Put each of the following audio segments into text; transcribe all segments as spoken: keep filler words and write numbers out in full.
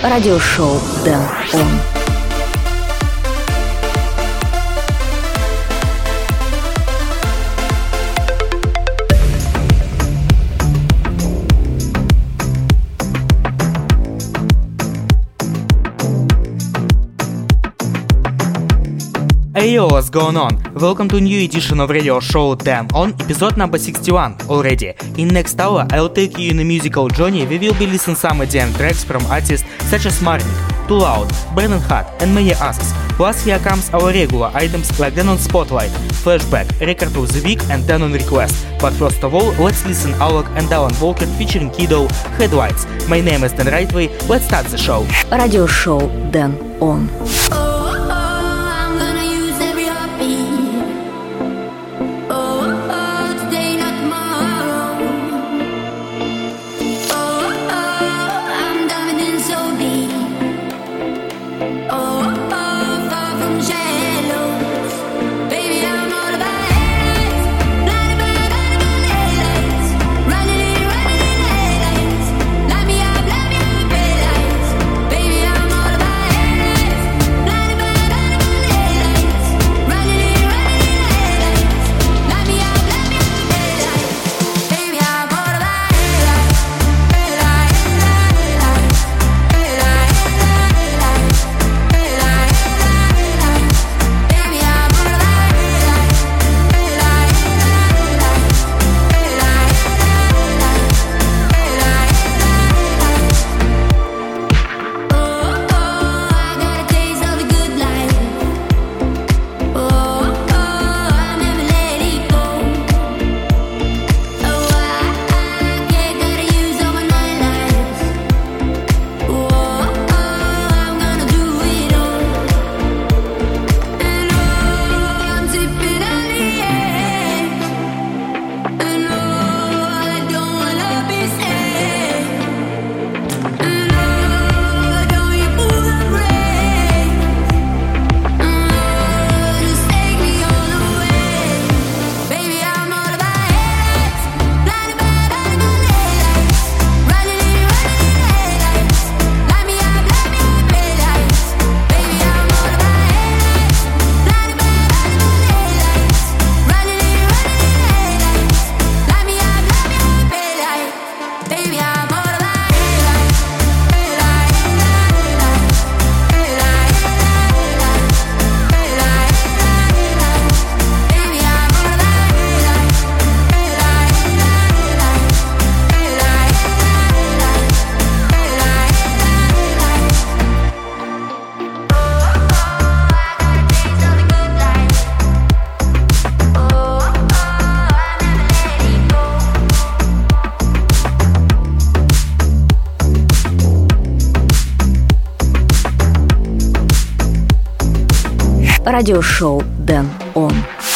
радиошоу Дэн Он. Hey yo, what's going on? Welcome to a new edition of radio show Dan On, episode number sixty-one already. In next hour, I'll take you in a musical journey. We will be listening some E D M tracks from artists such as Marnik, Too Loud, Brennan Hart and many others. Plus here comes our regular items like Dan On Spotlight, Flashback, Record of the Week and Dan On Request. But first of all, let's listen Alok and Alan Walker featuring Kiddo, Headlights. My name is Dan Rightway, let's start the show. Радиошоу Дэн Он. Радиошоу Дэн Он.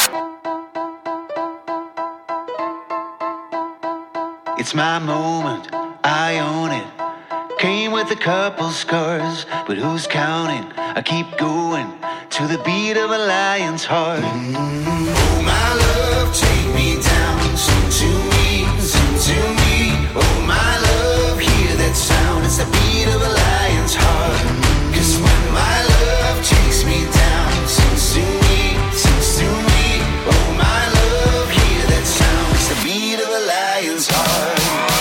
It's my moment, I own it. Came with a couple scars, but who's counting? I keep going to the beat of a lion's heart. Mm-hmm. Oh my love, take me down, sing to me, sing to me. Oh my love, hear that sound, it's the beat of a lion's heart. Cause when my love takes me down, sings to me, sings to me. Oh my love, hear that sound, it's the beat of a lion's heart.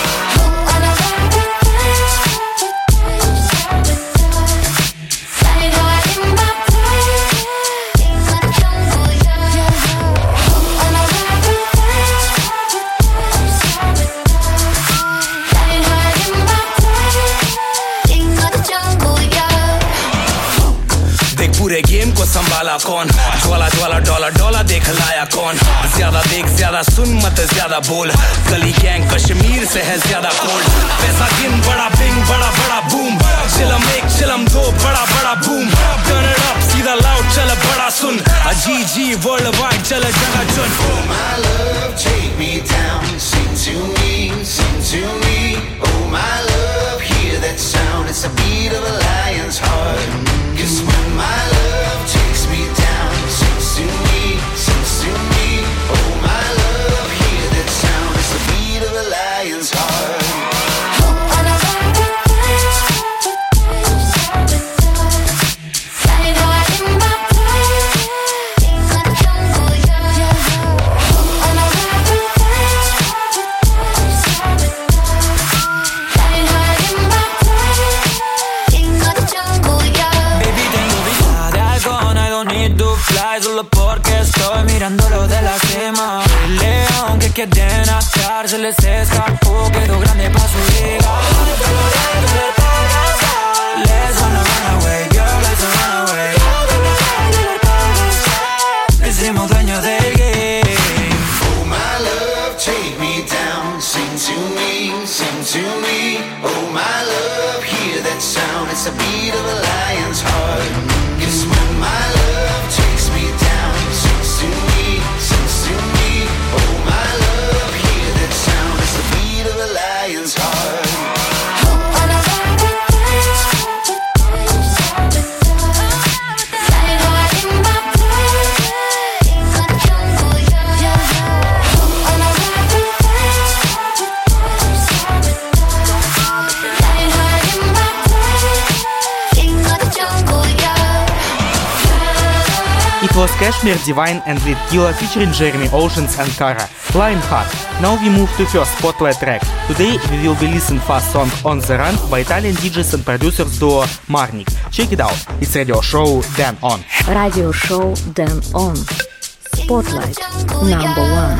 पूरे game को संभाला कौन ज्वाला ज्वाला dollar dollar देख लाया कौन ज्यादा देख ज्यादा सुन मत ज्यादा बोल गली गैंग कश्मीर से है ज्यादा कोल्ड पैसा गिन बड़ा बिंग बड़ा बड़ा बूम चिलम एक चिलम दो बड़ा बड़ा बूम टर्न इट अप सीधा लाउड चल बड़ा सुन जी जी वर्ल्ड वाइड चल जगह चुन Oh my love take me down sing to me sing to me Oh my love hear that sound it's the beat of a lion's heart cause when my love takes me down sings to me sings to me Oh my love hear that sound it's the beat of a lion's heart solo porque estoy mirándolo de la cima. El león que quiere nacer se les escapó, quedó grande pa' su liga. Let's wanna run away, girl, let's run away. Le hicimos dueños del game. Oh my love, take me down, sing to me, sing to me. Oh my love, hear that sound, it's the beat of a lion's heart. It's when my love takes me down, sings to me, sings to me. Oh my love, hear that sound, it's the beat of a lion's heart. It was Kashmir Divine and Lil Killa featuring Jeremy Oceans and Kara, Lionheart. Now we move to first spotlight track. Today we will be listening fast song On The Run by Italian D Js and producers duo Marnik. Check it out, it's radio show Dan On. Radio show Dan On. Spotlight number one.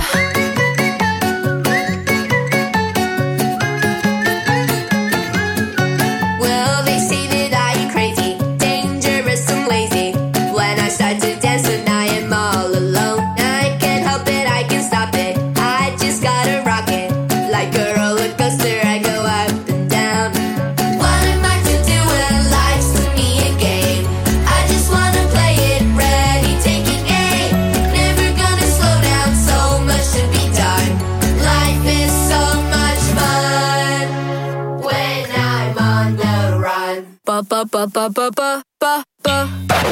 Ba ba ba ba ba ba ba.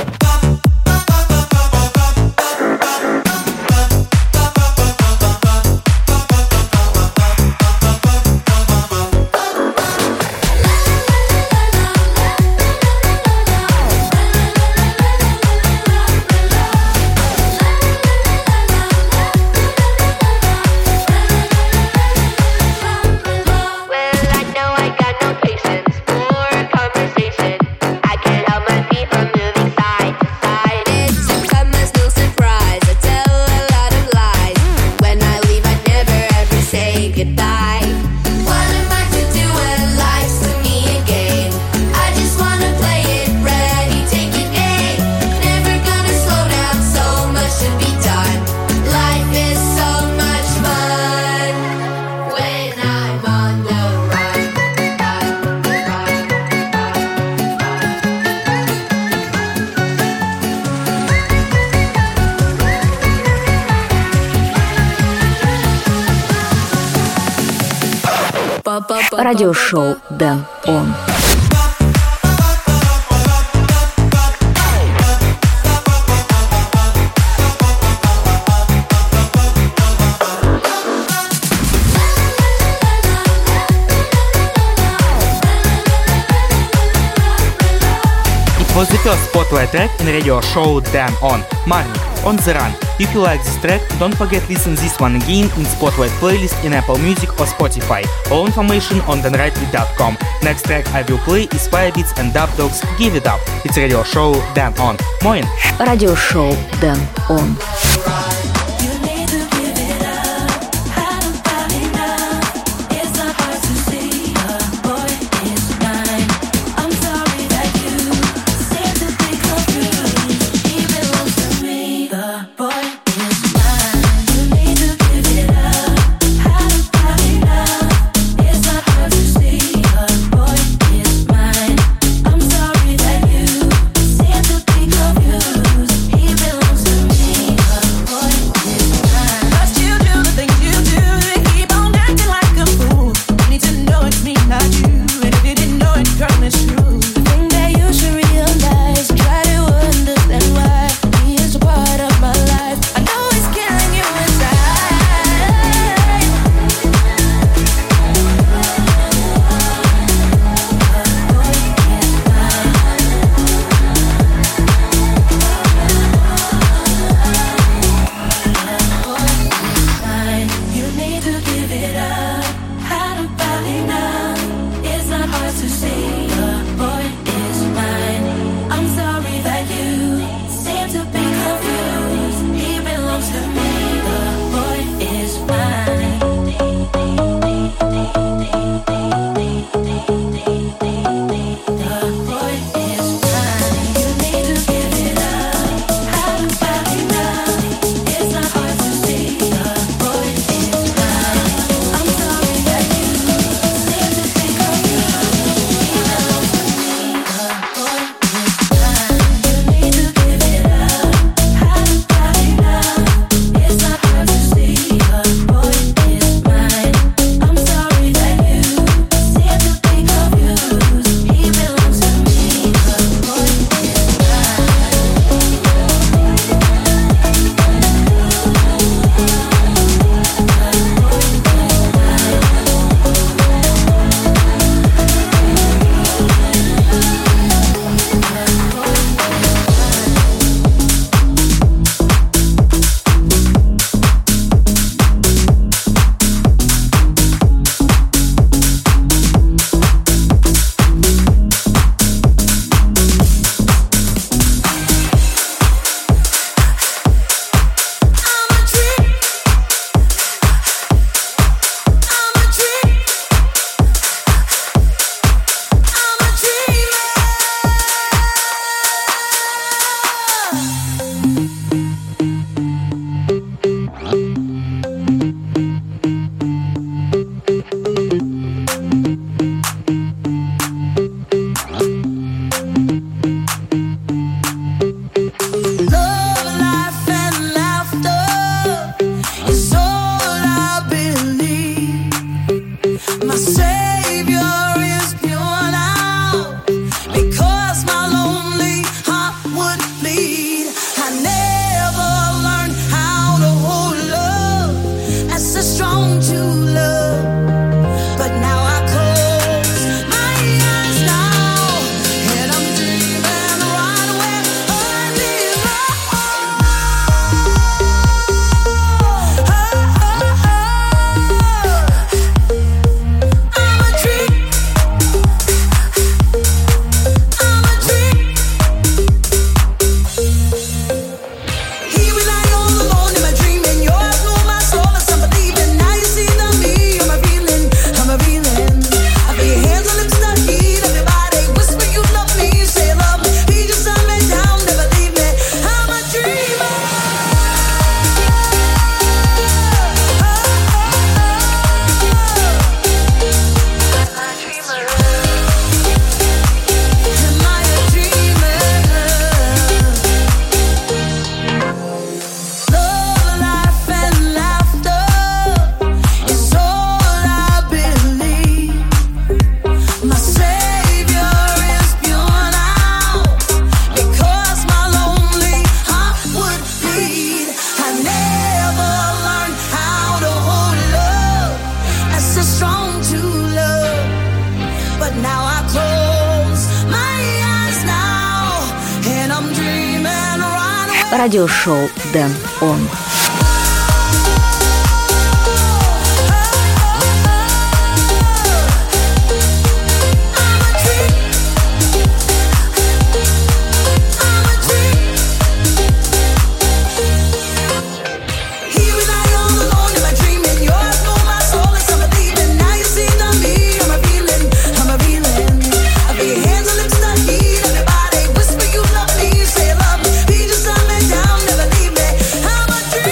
Радиошоу Dan On. It was the first spotlight track in radio show Dan On, Marnik, On The Run. If you like this track, don't forget to listen this one again in Spotlight playlist in Apple Music or Spotify. All information on dan rightly dot com. Next track I will play is Firebeats and Dub Dogs Give It Up. It's radio show Dan On. Moin! Радиошоу Dan On. He belongs to me. радиошоу Дэн Он. Everybody whisper you love me, say love me. Be just let me down, never leave me. How much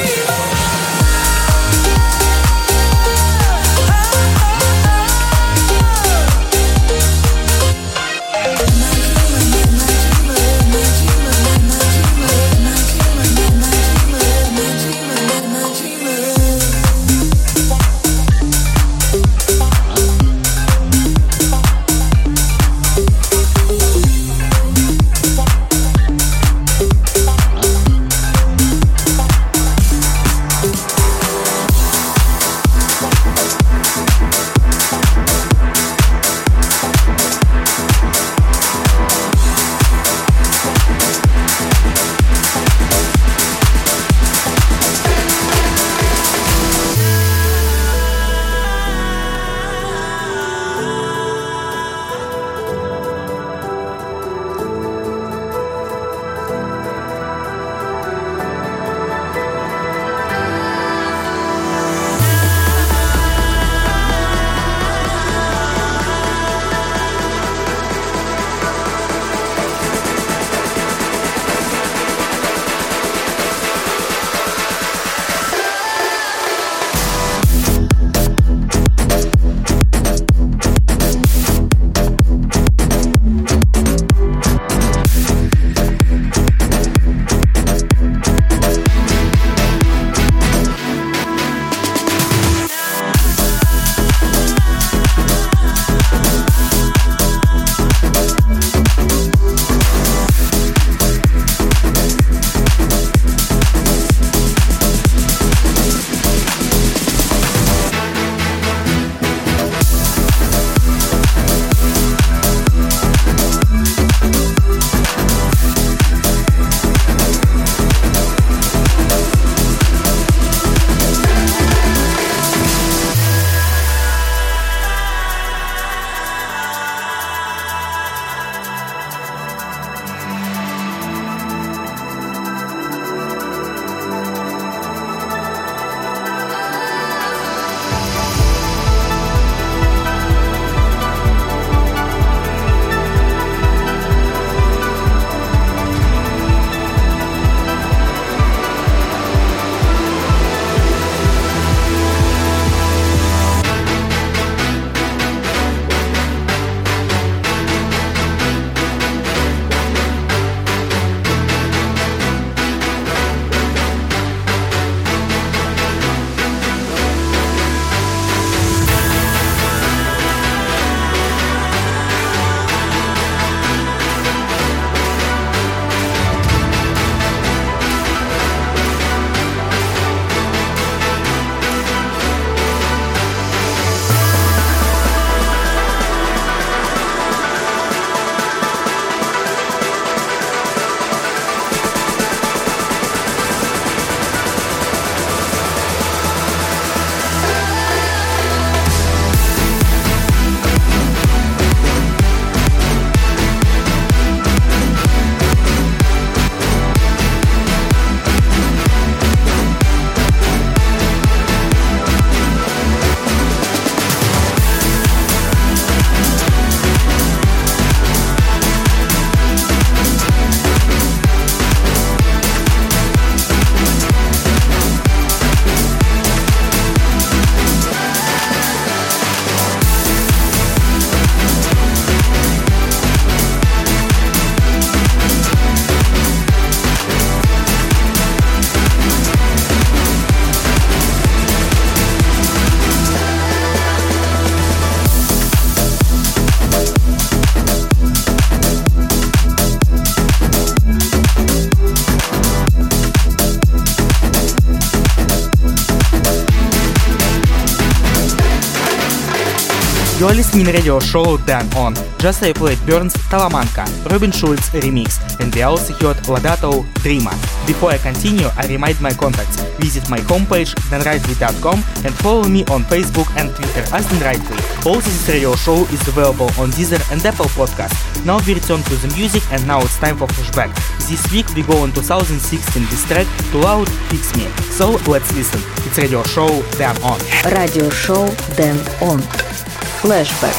You are listening radio show Dan On. Just I played Burns Talamanca, Robin Schulz remix, and we also heard Ladato Dreamer. Before I continue, I remind my contacts. Visit my homepage dan rightly dot com and follow me on Facebook and Twitter as Dan Rightly. Also, this radio show is available on Deezer and Apple Podcasts. Now we return to the music, and now it's time for flashback. This week we go in two thousand sixteen this track to Loud Fix Me. So let's listen. It's radio show Dan On. Radio show Dan On. Flashback.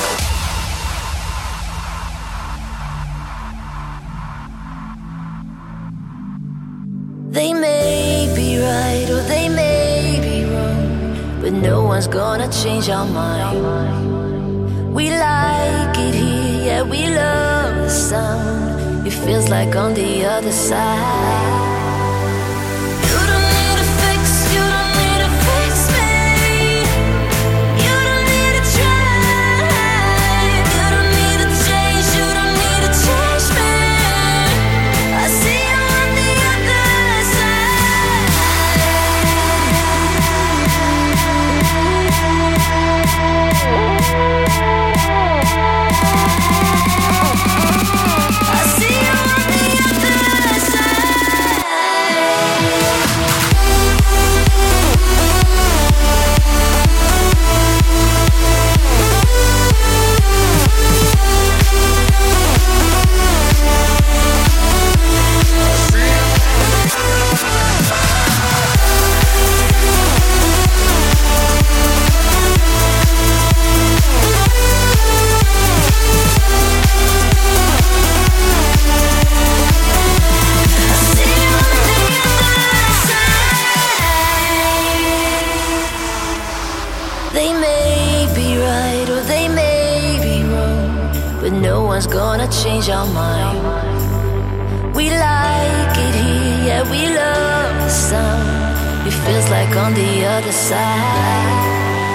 They may be right or they may be wrong, but no one's gonna change our mind. We like it here, yeah, we love the sound. It feels like on the other side. Gonna change our mind. We like it here, yeah, we love the sound. It feels like on the other side.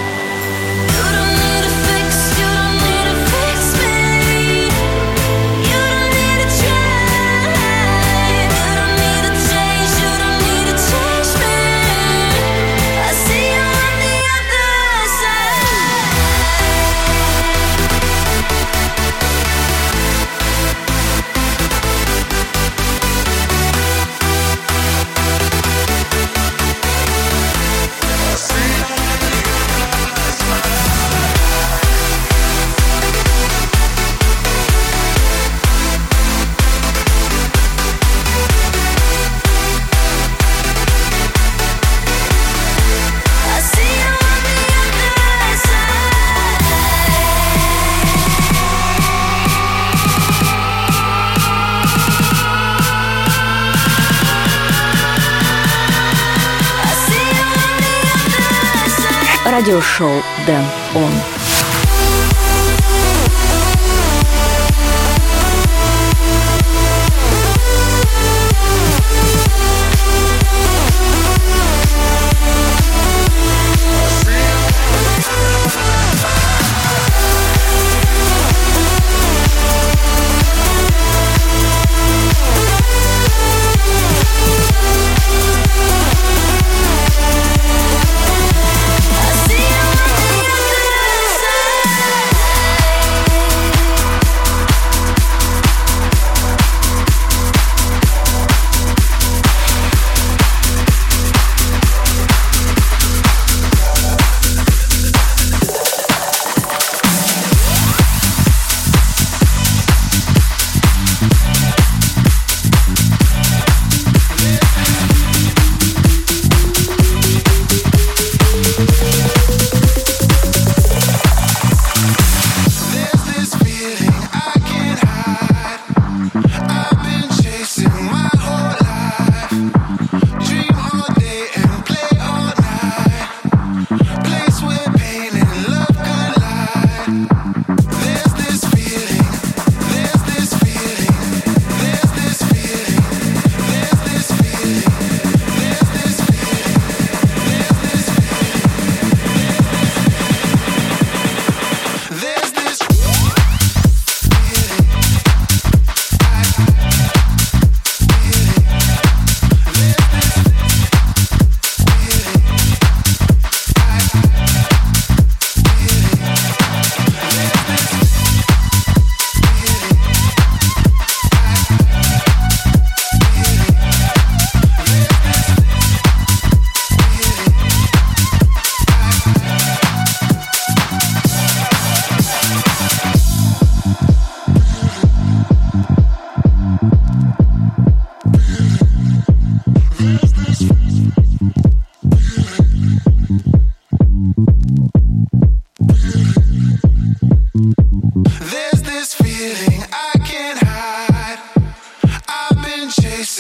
Радиошоу Dan On.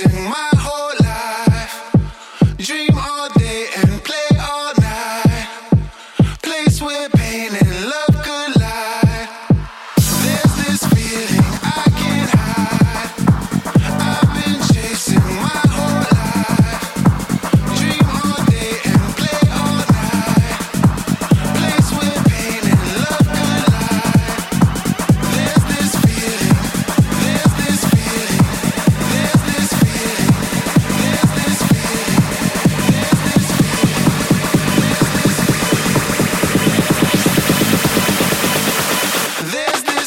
chasing my whole life. Dream all day and play all night. Place where pain and love collide. There's this feeling I can't hide. I've been chasing my whole life. Dream all day and play all night. Place where pain and love collide. There's this feeling. There's this feeling. There's this feeling. There's this feeling. There's this feeling. There's this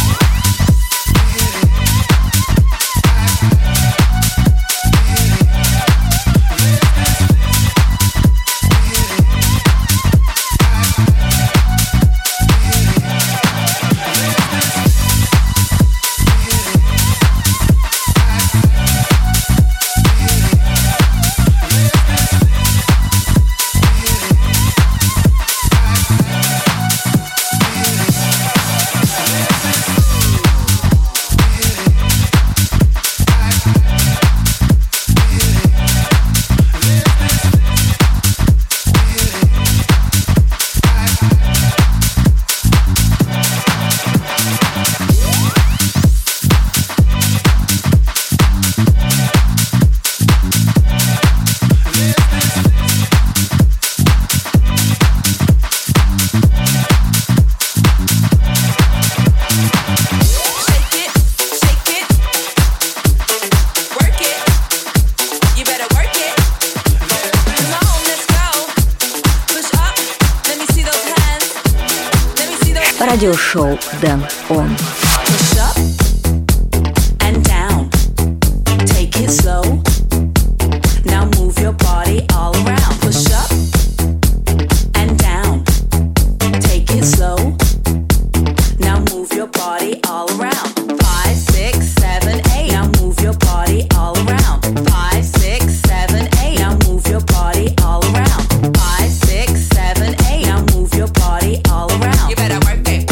Радиошоу Дэн Он. Push up and down. Take it slow. Now move your body all around. Push up and down. Take it slow. Now move your body all around. Five, six, seven, eight. Now move your body all around. Five, six, seven, eight. Now move your body all around. Five, six, seven, eight. Now move your body all around. You better work it.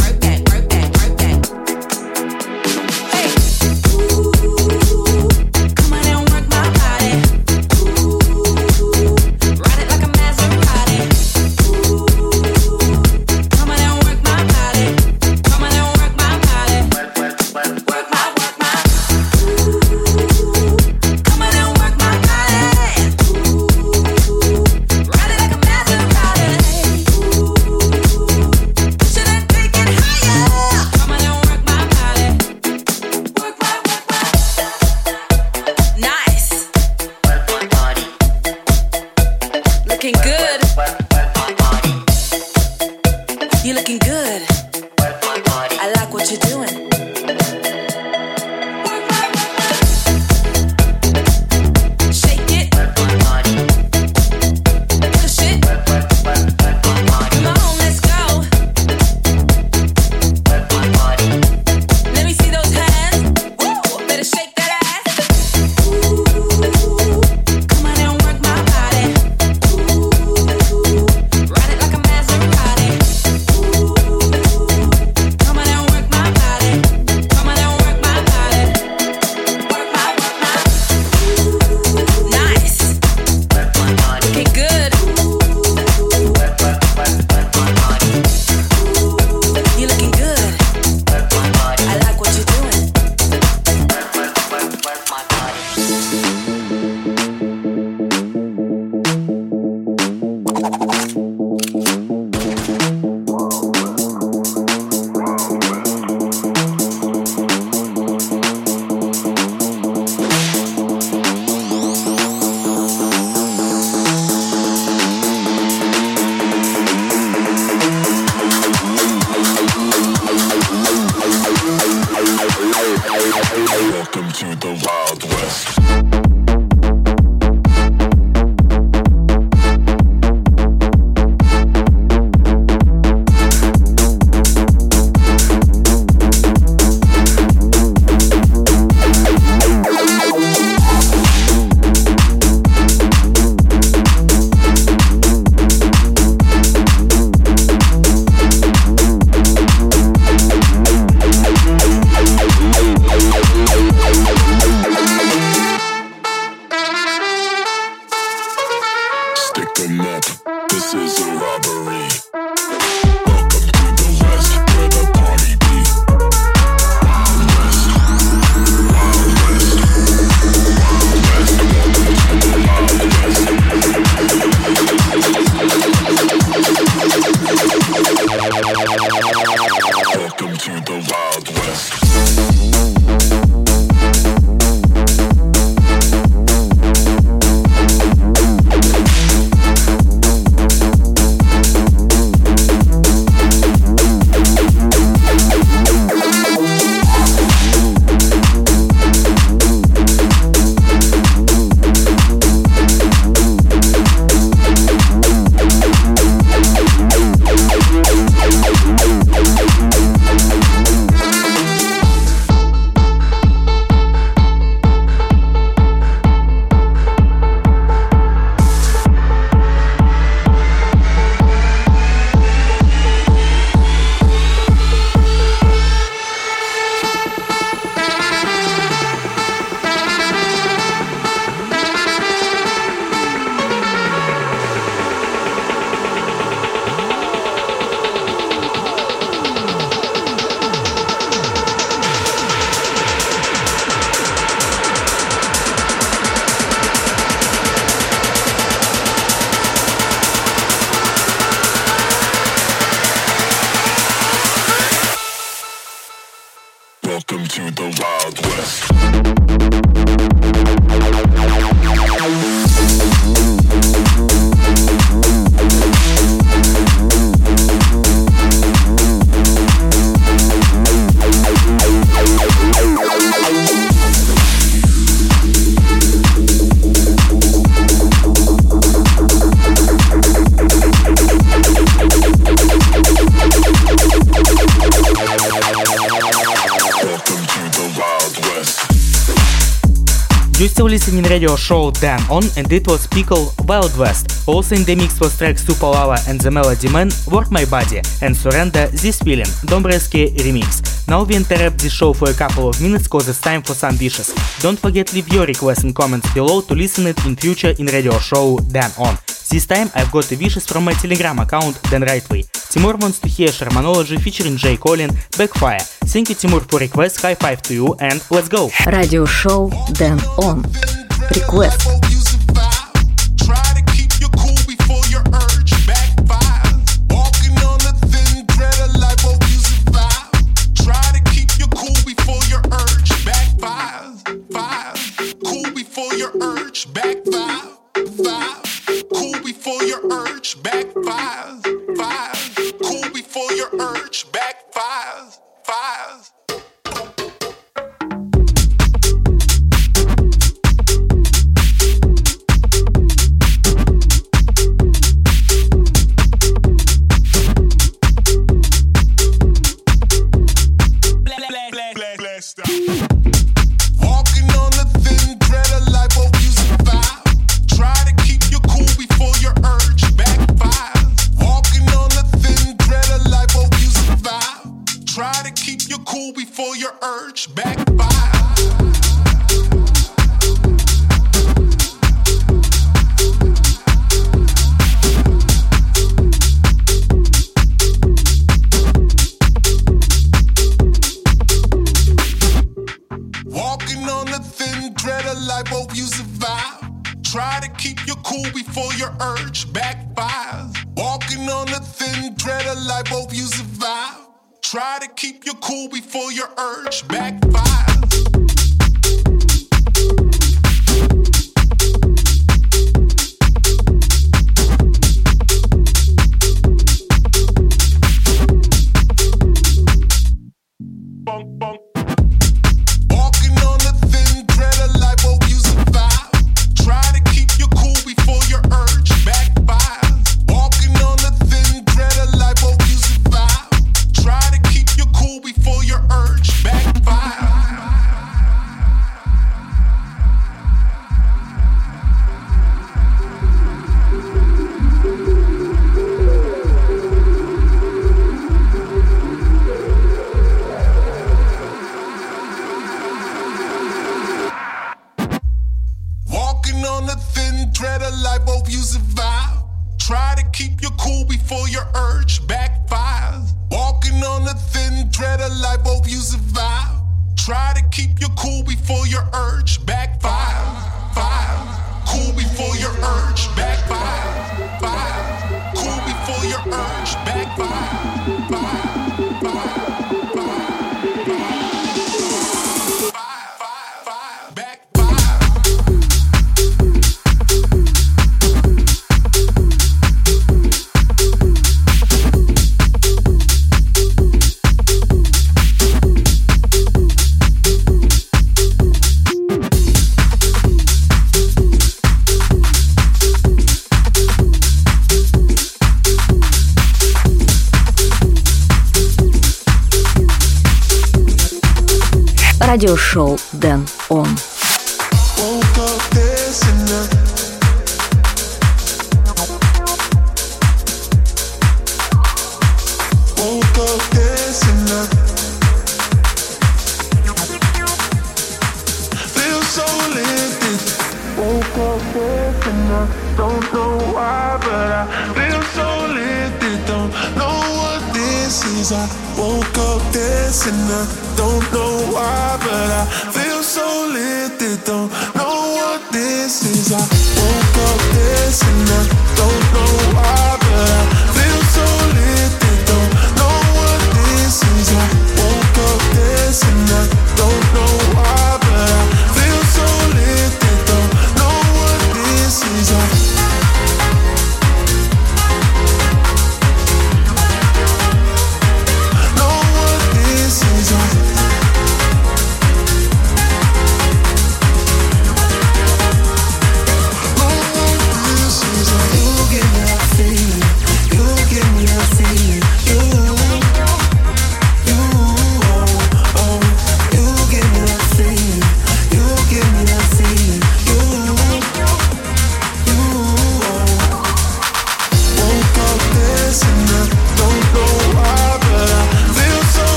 Welcome to the Wild West. You're still listening radio show Dan On, and it was Pickle Wild West. Also in the mix was track Super Lava and the Melody Man, Work My Body, and Surrender This Feeling, Dombreski remix. Now we interrupt this show for a couple of minutes cause it's time for some wishes. Don't forget leave your requests and comments below to listen it in future in radio show Dan On. This time I've got the wishes from my Telegram account Dan Rightway. Timur wants to hear Shermanology featuring J. Colin, Backfire. Thank you Timur for request, high five to you and let's go! Radio show Dan On. Request. Try to keep your cool before your urge backfires. Радиошоу Dan On. Don't know why, but I feel so lifted. Don't know what this is. I woke up dancing. I don't know why, but I feel so lifted. Don't know what this is. I woke up dancing. I don't know why, but I feel so lifted. Don't know what this is. I woke up dancing. I don't know why, but I feel so lifted. Don't know what this is. I Feel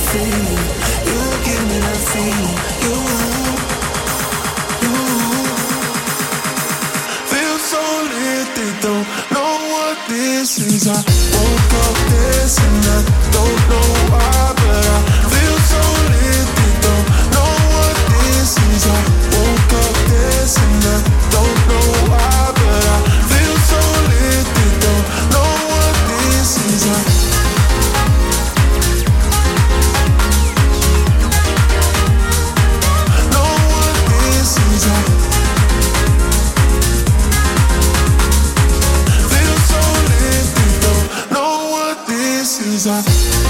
feeling. You give me that feeling. You, you feel so lit, they don't know what this is. I woke up this and I don't know why, but I feel so lit, they don't know what this is. I woke up this and I don't know why, but I feel so lit, they don't know what this is. I know what this is. I feel so lit, they don't know what this is. I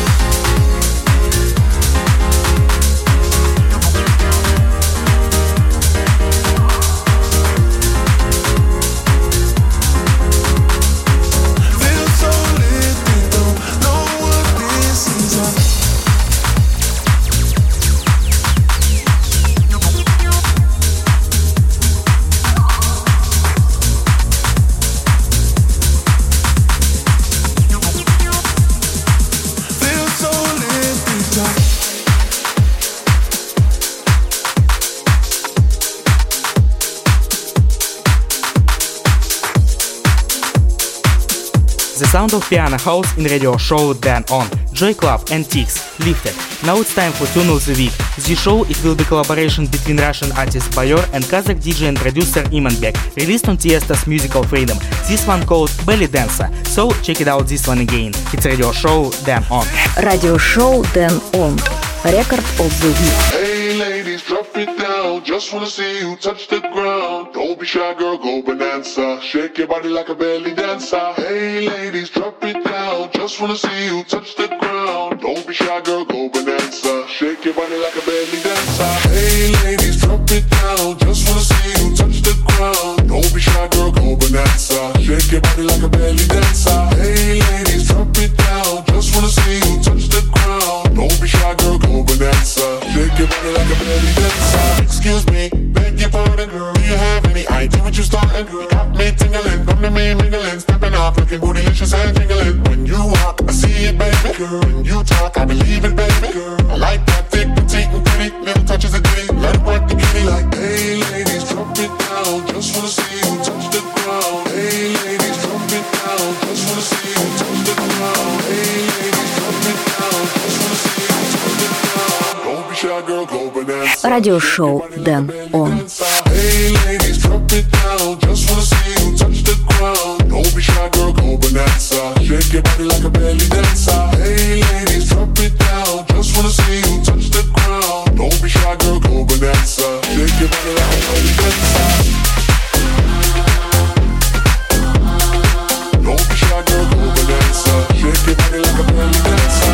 The sound of piano house in radio show Dan On, Joy Club and Tix, Lifted. Now it's time for Tune of the Week. This show it will be collaboration between Russian artist Bayor and Kazakh D J and producer Imanbek, released on Tiesto's Musical Freedom. This one called Belly Dancer. So check it out this one again. It's radio show Dan On. Radio show Dan On. Record of the week. Hey ladies, drop it down. Just wanna see you touch the ground. Don't be shy, girl, go bonanza. Shake your body like a belly dancer. Hey ladies, drop it down. Just wanna see you touch the ground. Don't be shy, girl, go bonanza. Shake your body like a belly dancer. Hey ladies, drop it down. Just wanna see you touch the ground. Don't be shy, girl, go bonanza. Shake your body like a belly dancer. Hey ladies, drop it down. Just wanna see you touch the ground. Don't be shy, girl, go bonanza. Shake your body like a belly dancer. Excuse me, beg your pardon, girl. Do you have any idea what you starting, girl? You got me tingling, come to me mingling, stepping off, looking bootylicious and jingling. When you walk, I see it, baby, girl. When you talk, I believe it, baby, girl. I like that thick, petite, and pretty. Little touches of ditty, let it work the kitty. Like, hey, ladies, drop it down. Just wanna see you touch the ground. Hey, ladies, drop it down. Just wanna see you touch the ground. Hey, ladies, drop it down. Just wanna see you touch the ground. Don't be shy, girl, go bonanza. Радиошоу Dan On. Hey, ladies, drop it down. Just wanna see you touch the ground. Don't be shy, girl, go bonanza. Shake your body like a belly dancer. Hey, ladies, drop it down. Just wanna see you touch the ground. Don't be shy, girl, go bonanza. Shake your body like a belly dancer. Don't be shy, girl, go bonanza. Shake your body like a belly dancer.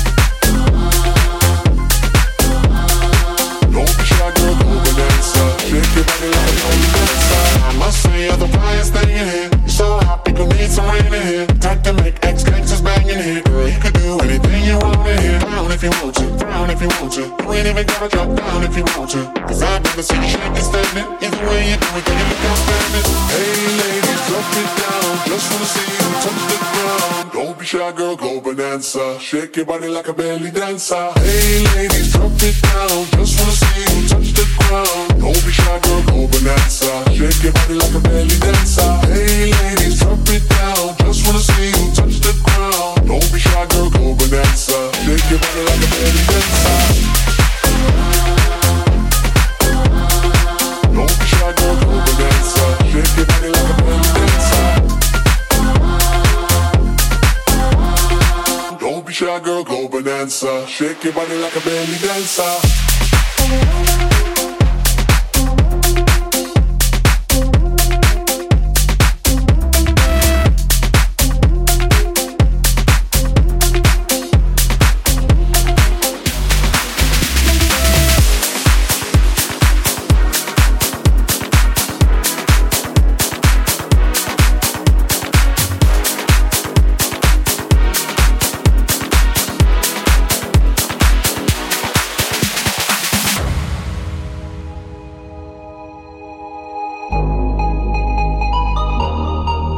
Don't be shy, girl, go bonanza. Shake your body like a belly dancer. I must say you're the flyest thing in here. You're so hot, people need some rain in here. Type to make ex-gangsters bang in here. Girl, you could do anything you want in here. Down if you want to, down if you want to. You ain't even gotta drop down if you want to. Cause I've never seen you shaking standing. Either way you do it, then you look outstanding. Hey ladies, drop it down. Just wanna see you touch the ground. Don't be shy, girl, go bonanza. Shake your body like a belly dancer. Hey ladies, drop it down. Just wanna see you touch the ground. Don't be shy, girl, go bonanza. Shake your body like a belly dancer. Hey ladies, drop it down. Just wanna see you touch the ground. Don't be shy, girl, go bonanza. Shake your body like a belly dancer. Don't be shy, girl, go bonanza. Shake your body like a belly dancer. Don't be shy, girl, go bonanza. Shake your body like a belly dancer.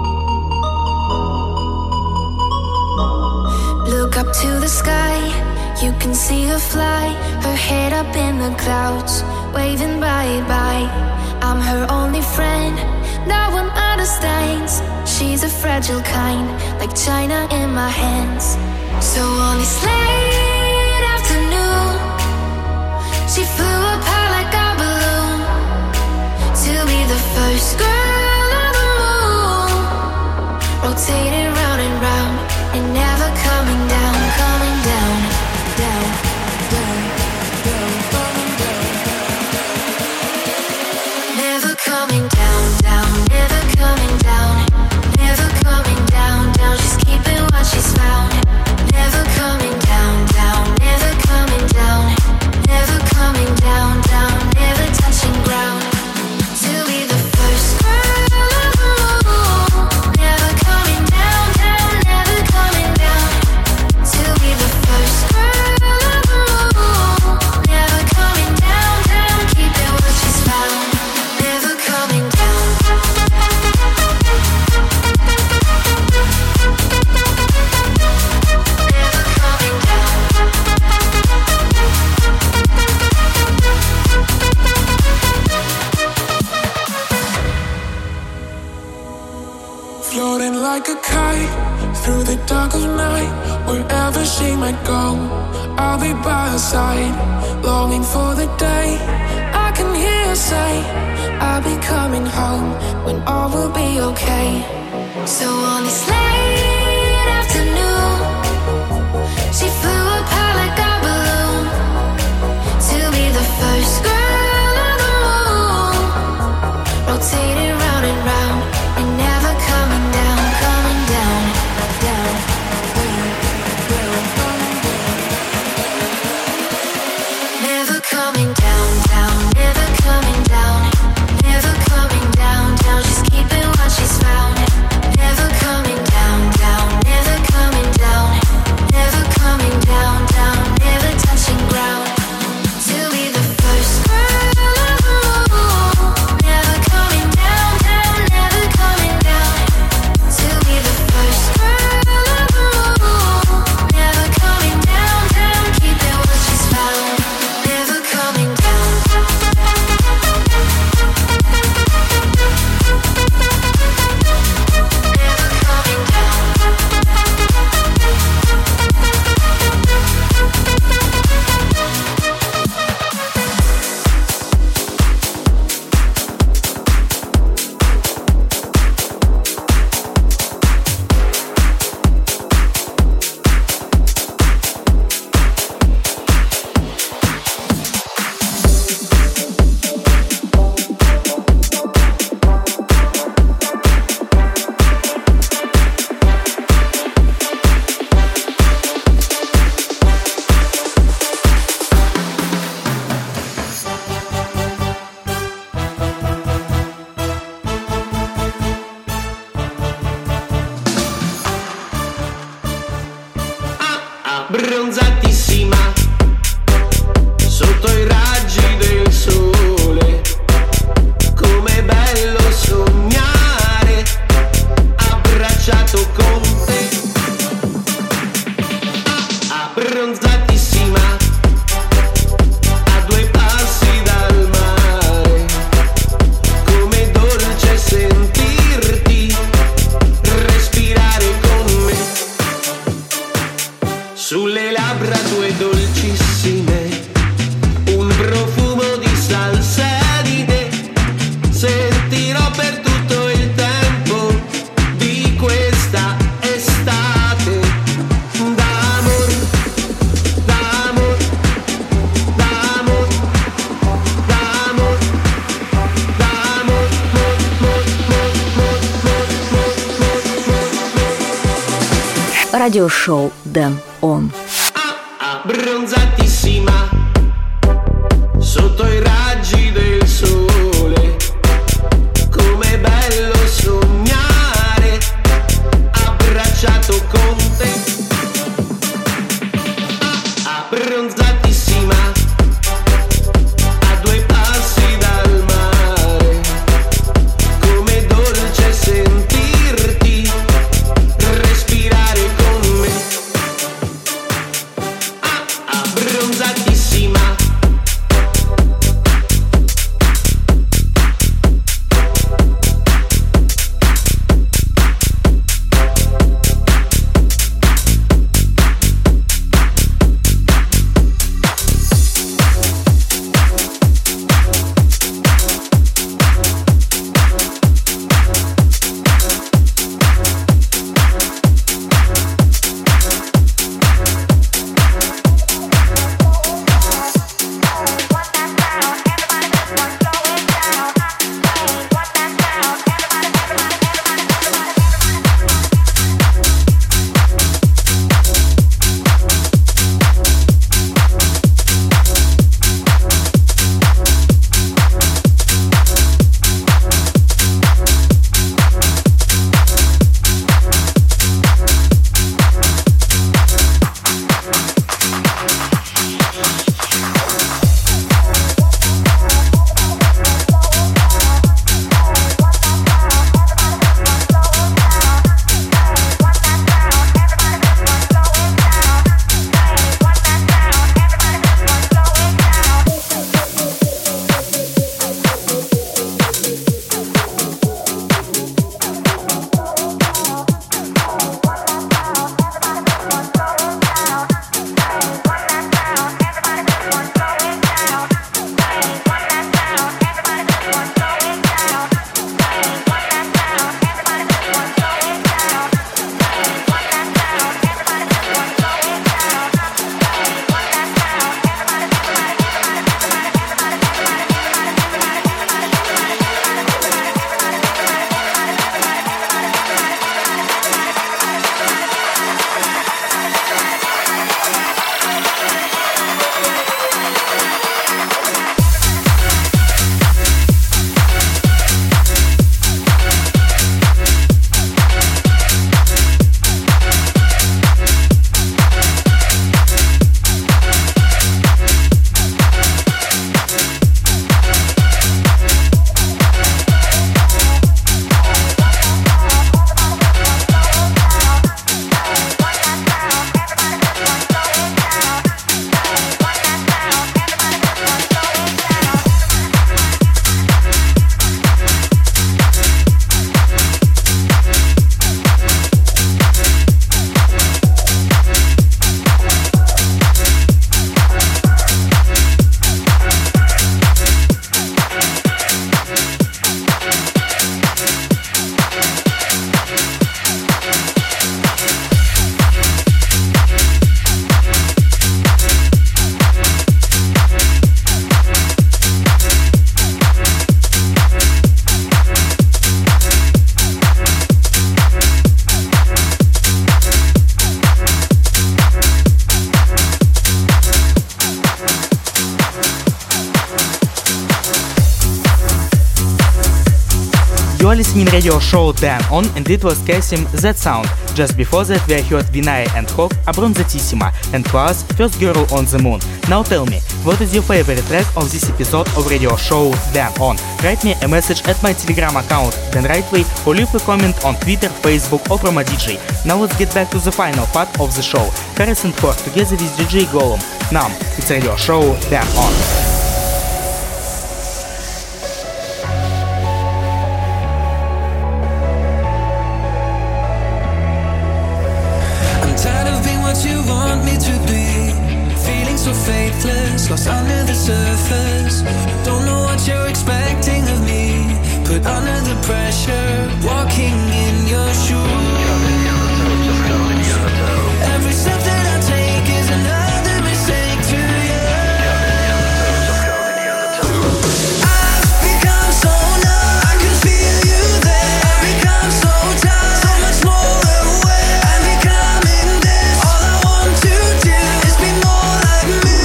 Look up to the sky, You can see her fly, her head up in the clouds, waving bye-bye. I'm her only friend, no one understands. She's a fragile kind, like china in my hands. So on this late afternoon, she flew apart like a balloon to be the first girl on the moon, rotating round and round and never coming down, coming down, down, down, down, coming down, never coming down, down, never coming down, never coming down, down. She's keeping what she's found. Never coming down, down, never coming down, never coming down, down, never touching ground. To be the first girl on the moon, never coming down, down, never coming down. To be the first girl on the moon, never coming down, down, keeping what she's found. Never coming down. Floating like a kite through the dark of night, wherever she might go, I'll be by her side, longing for the day I can hear her say, I'll be coming home when all will be okay. So on this late afternoon, she flew apart like a balloon to be the first girl on the moon, rotating round and round and never coming down, coming down, down, down, down, coming down, never coming down, down, never coming down, never coming down, down. She's keeping what she's found. Never coming down, down, never coming down, never coming down, down, never touching ground. To be the first girl on the moon, never coming down, down, never coming down. To be the first girl on the moon, never coming down, down, keeping what she's found. Never coming down. Bronzatissima sotto i raggi del sole, com'è bello sognare abbracciato con te. Bronzatissima a due passi dal mare, com'è dolce sentirti respirare con me. Sulle labbra tue dolcissime, un profumo di salsa di te, sentirò per tutto il tempo di questa estate. D'amor, d'amor, d'amor, d'amor, d'amor, mor, mor, mor, mor, mor, mor, mor, mor. Радиошоу Дэн Он. Bronzatissima sotto i raggi del sole, com'è bello sognare abbracciato con te. Bronzatissima a due passi dal mare, com'è dolce sentirti respirare con me. are listening radio show Dan On, and it was Kasim That Sound. Just before that we heard Vinay and Hawk Abronzatissima and Class First Girl on the Moon. Now tell me, what is your favorite track of this episode of radio show Dan On? Write me a message at my Telegram account Dan Rightway or leave a comment on Twitter, Facebook or Promo D J. Now let's get back to the final part of the show. Harrison Ford together with D J Golem. Now it's radio show Dan On. Lost under the surface, don't know what you're expecting of me. Put under the pressure, walking in your shoes. Every step that I take is another mistake to you. I've become so numb, I can feel you there. I've become so tired, so much more aware. I'm becoming this. All I want to do is be more like me.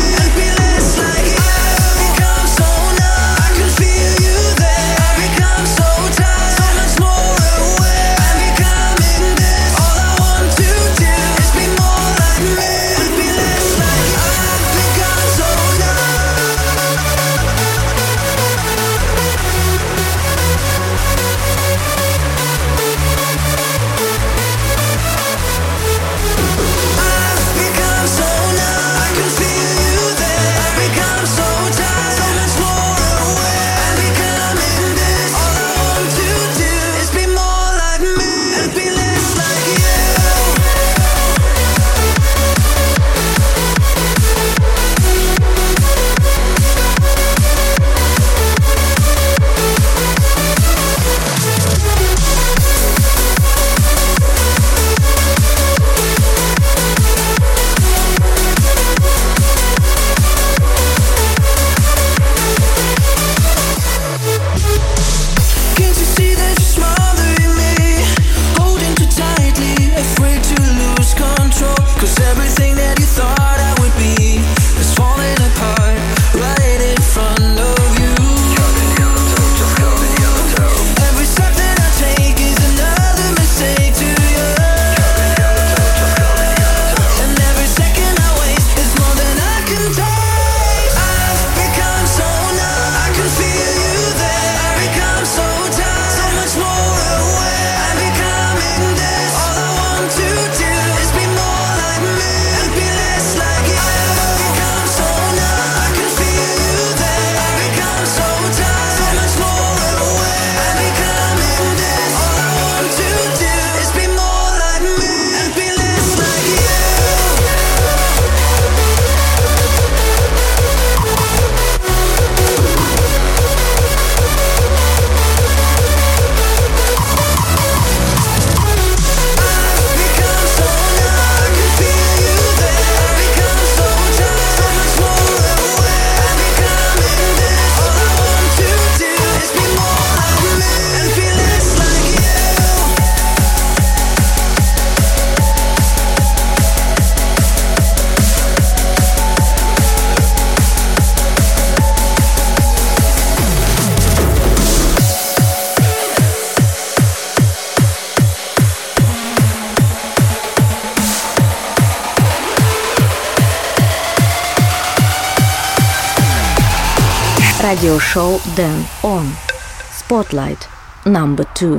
Radio show Dan On. Spotlight number two.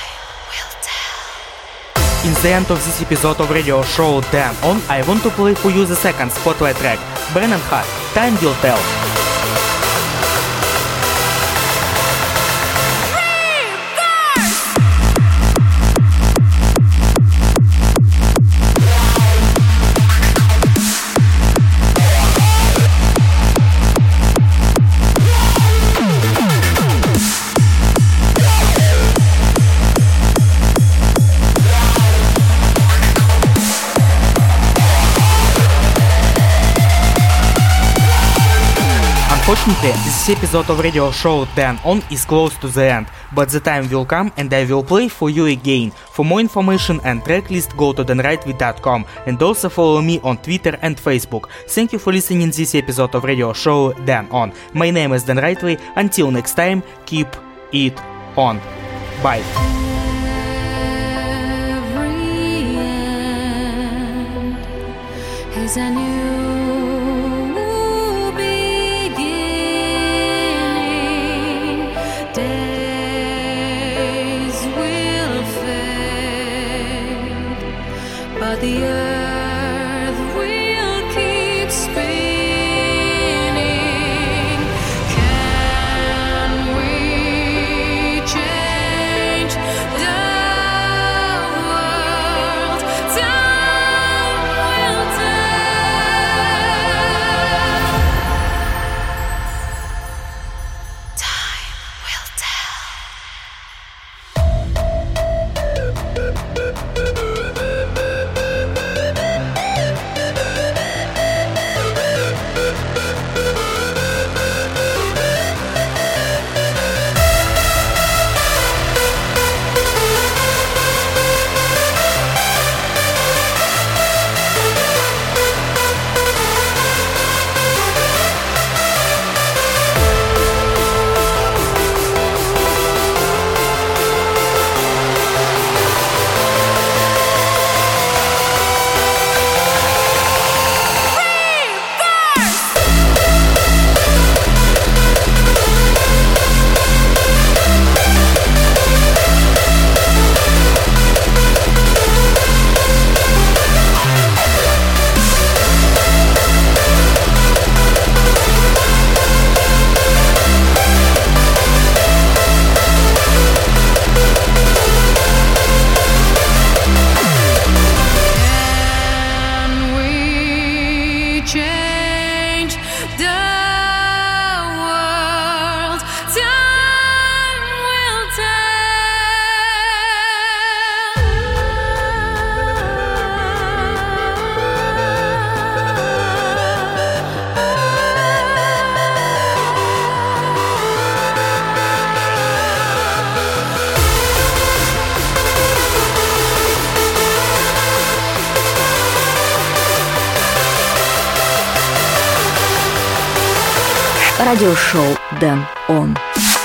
In the end of this episode of radio show Dan On, I want to play for you the second Spotlight track, Brennan Hart, Time Will Tell. Unfortunately, this episode of radio show Dan On is close to the end, but the time will come and I will play for you again. For more information and tracklist, go to dan rightway dot com and also follow me on Twitter and Facebook. Thank you for listening this episode of radio show Dan On. My name is Dan Rightway. Until next time, keep it on. Bye! Is a new beginning. Days will fade, but the earth will keep spinning. Can we change the world? Time will change the world. Time will Радиошоу Дэн Он.